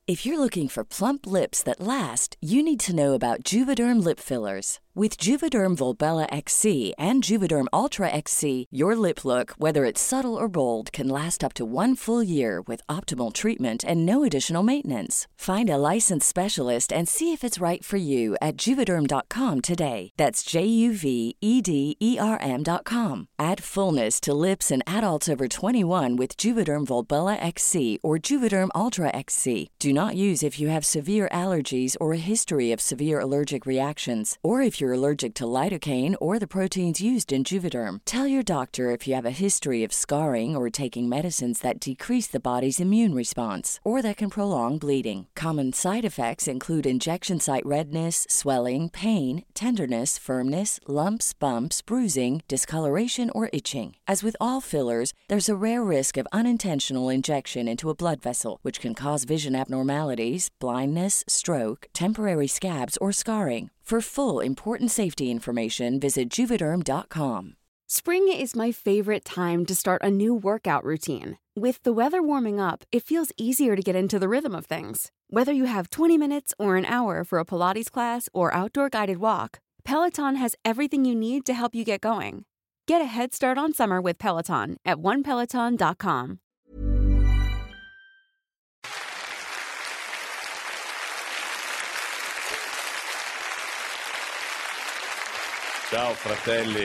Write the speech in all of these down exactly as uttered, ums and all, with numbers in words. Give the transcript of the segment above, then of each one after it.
If you're looking for plump lips that last, you need to know about Juvederm lip fillers. With Juvederm Volbella X C and Juvederm Ultra X C, your lip look, whether it's subtle or bold, can last up to one full year with optimal treatment and no additional maintenance. Find a licensed specialist and see if it's right for you at Juvederm dot com today. That's J U V E D E R M dot com. Add fullness to lips in adults over twenty-one with Juvederm Volbella X C or Juvederm Ultra X C. Do not use if you have severe allergies or a history of severe allergic reactions, or if you're allergic to lidocaine or the proteins used in Juvederm. Tell your doctor if you have a history of scarring or taking medicines that decrease the body's immune response or that can prolong bleeding. Common side effects include injection site redness, swelling, pain, tenderness, firmness, lumps, bumps, bruising, discoloration, or itching. As with all fillers, there's a rare risk of unintentional injection into a blood vessel, which can cause vision abnormalities, blindness, stroke, temporary scabs, or scarring. For full, important safety information, visit Juvederm dot com. Spring is my favorite time to start a new workout routine. With the weather warming up, it feels easier to get into the rhythm of things. Whether you have twenty minutes or an hour for a Pilates class or outdoor guided walk, Peloton has everything you need to help you get going. Get a head start on summer with Peloton at one peloton dot com. Ciao fratelli.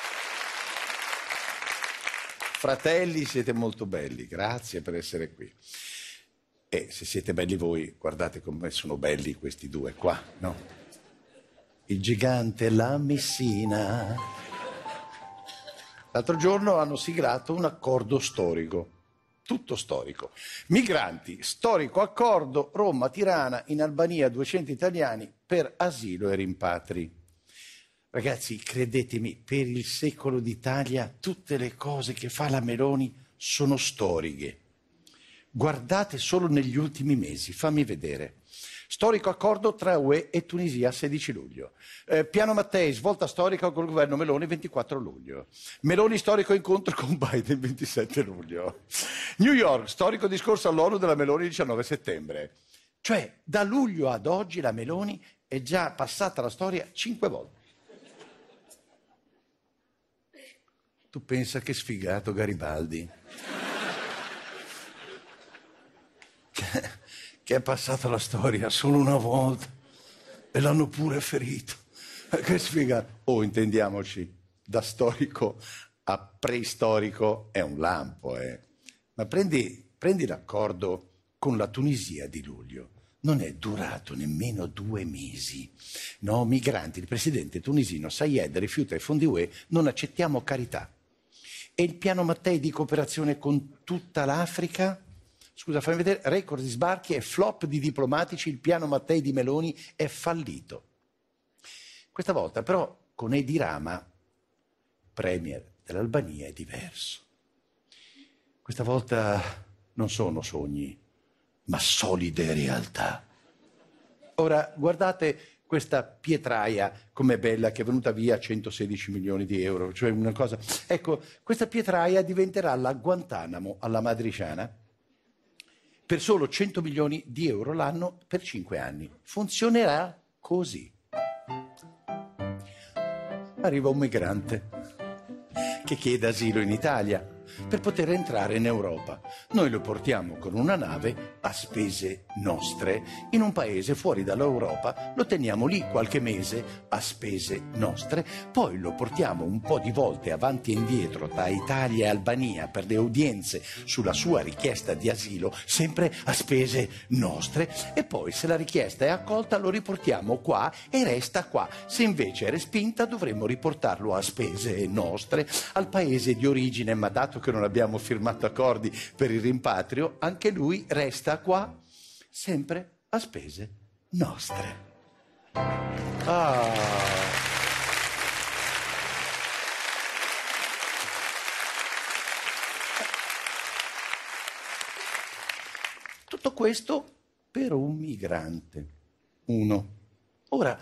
Fratelli, siete molto belli, grazie per essere qui. E se siete belli voi, guardate come sono belli questi due qua, no? Il gigante e la Messina. L'altro giorno hanno siglato un accordo storico, tutto storico. Migranti, storico accordo, Roma, Tirana, in Albania duecento italiani per asilo e rimpatri. Ragazzi, credetemi, per il secolo d'Italia tutte le cose che fa la Meloni sono storiche. Guardate solo negli ultimi mesi, fammi vedere. Storico accordo tra U E e Tunisia, sedici luglio. Eh, Piano Mattei, svolta storica col governo Meloni, ventiquattro luglio. Meloni, storico incontro con Biden, ventisette luglio. New York, storico discorso all'ONU della Meloni, diciannove settembre. Cioè, da luglio ad oggi la Meloni è già passata la storia cinque volte. Tu pensa che sfigato Garibaldi, che, che è passato la storia solo una volta e l'hanno pure ferito. Che sfigato. Oh, intendiamoci, da storico a preistorico è un lampo, eh. Ma prendi, prendi l'accordo con la Tunisia di luglio. Non è durato nemmeno due mesi. No, migranti, il presidente tunisino Sayed rifiuta i fondi U E, non accettiamo carità. E il piano Mattei di cooperazione con tutta l'Africa? Scusa, fammi vedere, record di sbarchi e flop di diplomatici, il piano Mattei di Meloni è fallito. Questa volta però con Edi Rama, premier dell'Albania, è diverso. Questa volta non sono sogni, ma solide realtà. Ora, guardate questa pietraia, com'è bella, che è venuta via a centosedici milioni di euro, cioè una cosa... Ecco, questa pietraia diventerà la Guantanamo alla matriciana per solo cento milioni di euro l'anno per cinque anni. Funzionerà così. Arriva un migrante che chiede asilo in Italia per poter entrare in Europa. Noi lo portiamo con una nave a spese nostre in un paese fuori dall'Europa, lo teniamo lì qualche mese a spese nostre, poi lo portiamo un po' di volte avanti e indietro tra Italia e Albania per le udienze sulla sua richiesta di asilo, sempre a spese nostre, e poi se la richiesta è accolta lo riportiamo qua e resta qua. Se invece è respinta dovremmo riportarlo a spese nostre al paese di origine, ma dato che non abbiamo firmato accordi per il rimpatrio, anche lui resta qua, sempre a spese nostre. Ah. Tutto questo per un migrante. Uno. Ora,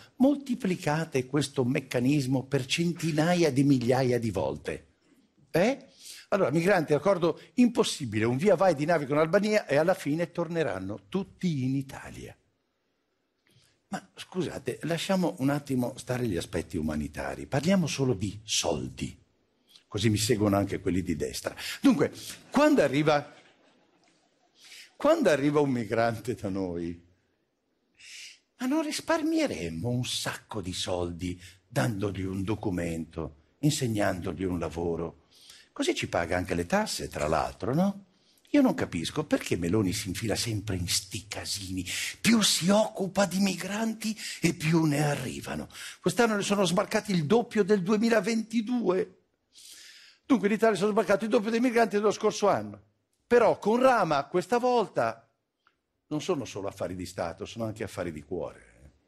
moltiplicate questo meccanismo per centinaia di migliaia di volte. Eh? Allora, migranti, accordo impossibile, un via vai di navi con Albania e alla fine torneranno tutti in Italia. Ma scusate, lasciamo un attimo stare gli aspetti umanitari, parliamo solo di soldi, così mi seguono anche quelli di destra. Dunque, quando arriva, quando arriva un migrante da noi, ma non risparmieremmo un sacco di soldi dandogli un documento, insegnandogli un lavoro? Così ci paga anche le tasse, tra l'altro, no? Io non capisco perché Meloni si infila sempre in sti casini. Più si occupa di migranti e più ne arrivano. Quest'anno ne sono sbarcati il doppio del duemilaventidue. Dunque in Italia sono sbarcati il doppio dei migranti dello scorso anno. Però con Rama questa volta non sono solo affari di Stato, sono anche affari di cuore.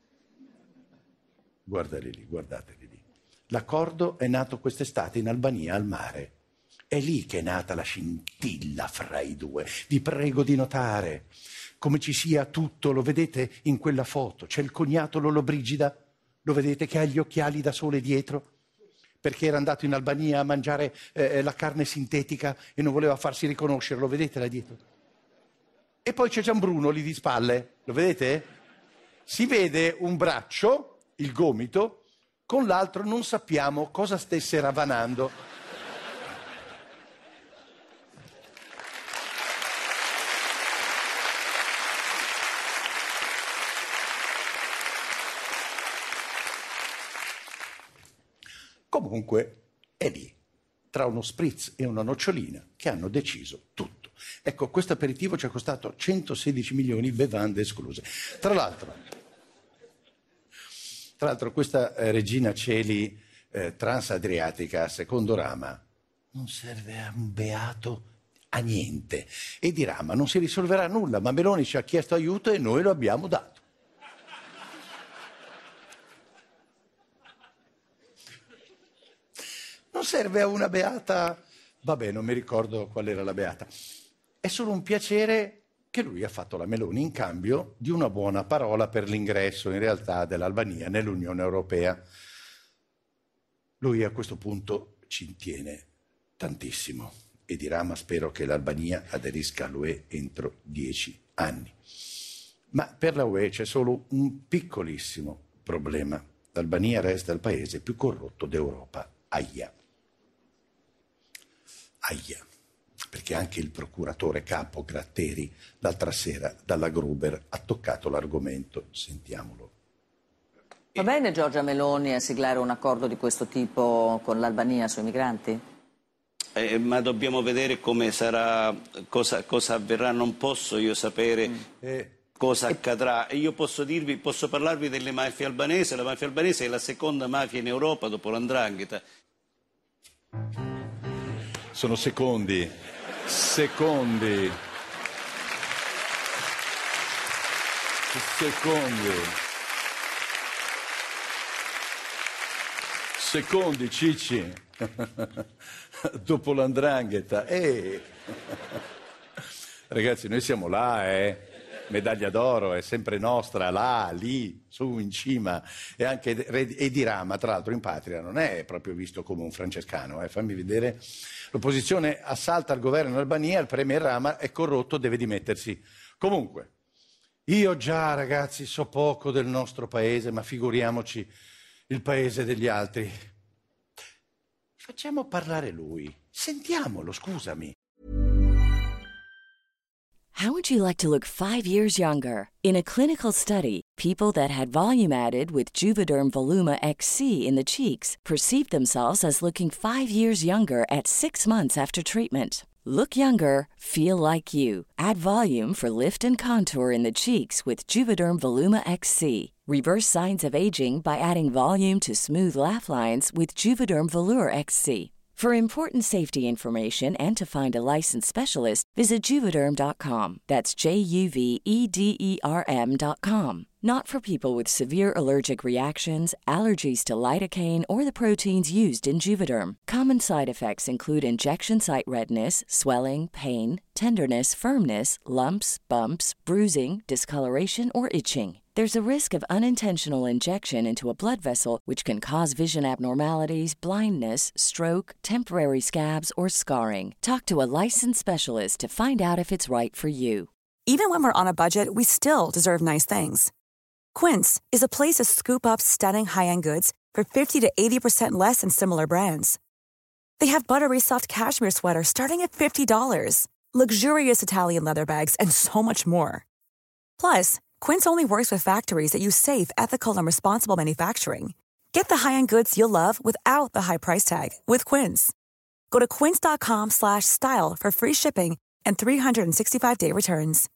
Guardali lì, guardateli lì. L'accordo è nato quest'estate in Albania, al mare. È lì che è nata la scintilla fra i due. Vi prego di notare come ci sia tutto, lo vedete in quella foto. C'è il cognato Lollobrigida, lo vedete che ha gli occhiali da sole dietro, perché era andato in Albania a mangiare eh, la carne sintetica e non voleva farsi riconoscere, lo vedete là dietro? E poi c'è Gianbruno lì di spalle, lo vedete? Si vede un braccio, il gomito, con l'altro non sappiamo cosa stesse ravanando. Comunque è lì, tra uno spritz e una nocciolina, che hanno deciso tutto. Ecco, questo aperitivo ci è costato centosedici milioni, bevande escluse. Tra l'altro, tra l'altro questa eh, Regina Coeli eh, transadriatica, secondo Rama, non serve a un beato, a niente. E di Rama non si risolverà nulla, ma Meloni ci ha chiesto aiuto e noi lo abbiamo dato. Non serve a una beata, vabbè, non mi ricordo qual era la beata. È solo un piacere che lui ha fatto la Meloni in cambio di una buona parola per l'ingresso, in realtà, dell'Albania nell'Unione Europea. Lui a questo punto ci tiene tantissimo e di Rama spero che l'Albania aderisca all'U E entro dieci anni. Ma per la U E c'è solo un piccolissimo problema. L'Albania resta il paese più corrotto d'Europa. Aia. Aia, perché anche il procuratore capo Gratteri l'altra sera dalla Gruber ha toccato l'argomento. Sentiamolo. Va bene Giorgia Meloni a siglare un accordo di questo tipo con l'Albania sui migranti? Eh, ma dobbiamo vedere come sarà, cosa, cosa avverrà, non posso io sapere mm. eh. cosa accadrà. E io posso dirvi, posso parlarvi delle mafie albanesi. La mafia albanese è la seconda mafia in Europa dopo l'Ndrangheta. Sono secondi, secondi, secondi, secondi, Cicci, dopo l'Ndrangheta. Eh. Ragazzi, noi siamo là, eh. Medaglia d'oro è sempre nostra, là, lì, su, in cima. E anche e di Rama, tra l'altro in patria, non è proprio visto come un francescano. Eh. Fammi vedere. L'opposizione assalta il governo in Albania, il premier Rama è corrotto, deve dimettersi. Comunque, io già, ragazzi, so poco del nostro paese, ma figuriamoci il paese degli altri. Facciamo parlare lui. Sentiamolo, scusami. How would you like to look five years younger? In a clinical study, people that had volume added with Juvederm Voluma X C in the cheeks perceived themselves as looking five years younger at six months after treatment. Look younger, feel like you. Add volume for lift and contour in the cheeks with Juvederm Voluma X C. Reverse signs of aging by adding volume to smooth laugh lines with Juvederm Volure X C. For important safety information and to find a licensed specialist, visit Juvederm dot com. That's J U V E D E R M dot com. Not for people with severe allergic reactions, allergies to lidocaine, or the proteins used in Juvederm. Common side effects include injection site redness, swelling, pain, tenderness, firmness, lumps, bumps, bruising, discoloration, or itching. There's a risk of unintentional injection into a blood vessel, which can cause vision abnormalities, blindness, stroke, temporary scabs, or scarring. Talk to a licensed specialist to find out if it's right for you. Even when we're on a budget, we still deserve nice things. Quince is a place to scoop up stunning high-end goods for fifty to eighty percent less than similar brands. They have buttery soft cashmere sweaters starting at fifty dollars, luxurious Italian leather bags, and so much more. Plus, Quince only works with factories that use safe, ethical, and responsible manufacturing. Get the high-end goods you'll love without the high price tag with Quince. Go to quince.com slash style for free shipping and three sixty-five day returns.